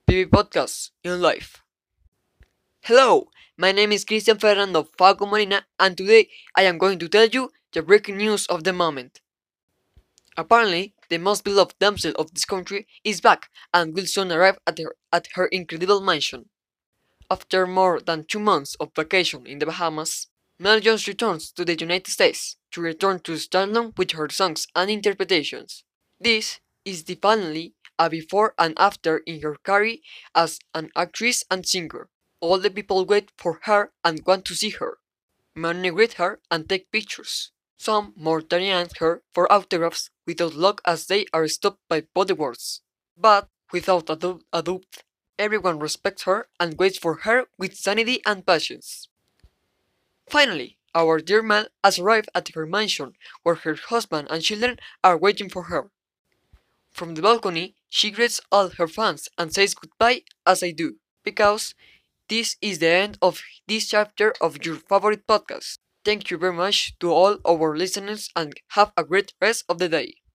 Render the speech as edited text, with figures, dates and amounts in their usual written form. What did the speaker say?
PB Podcast in life. Hello, my name is Cristian Fernando Falco Molina, and today I am going to tell you the breaking news of the moment. Apparently, the most beloved damsel of this country is back and will soon arrive at her incredible mansion. After more than 2 months of vacation in the Bahamas, Mel Jones returns to the United States to return to stardom with her songs and interpretations. This is definitely a before and after in her career as an actress and singer. All the people wait for her and want to see her. Many greet her and take pictures. Some more than ask her for autographs without luck as they are stopped by bodyguards. But without a doubt, everyone respects her and waits for her with sanity and patience. Finally, our dear Mel has arrived at her mansion where her husband and children are waiting for her. From the balcony, she greets all her fans and says goodbye as I do, because this is the end of this chapter of your favorite podcast. Thank you very much to all our listeners and have a great rest of the day.